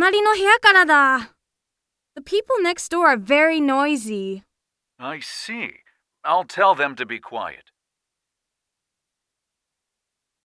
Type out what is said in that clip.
隣の部屋からだ。The people next door are very noisy. I see. I'll tell them to be quiet.